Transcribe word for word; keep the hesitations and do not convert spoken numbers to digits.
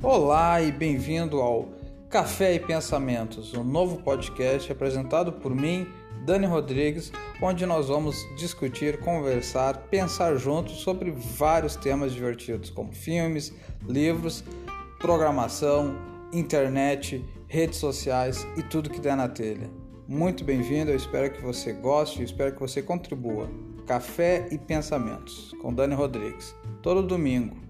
Olá e bem-vindo ao Café e Pensamentos, um novo podcast apresentado por mim, Dani Rodrigues, onde nós vamos discutir, conversar, pensar juntos sobre vários temas divertidos, como filmes, livros, programação, internet, redes sociais e tudo que der na telha. Muito bem-vindo, eu espero que você goste, eu espero que você contribua. Café e Pensamentos, com Dani Rodrigues, todo domingo.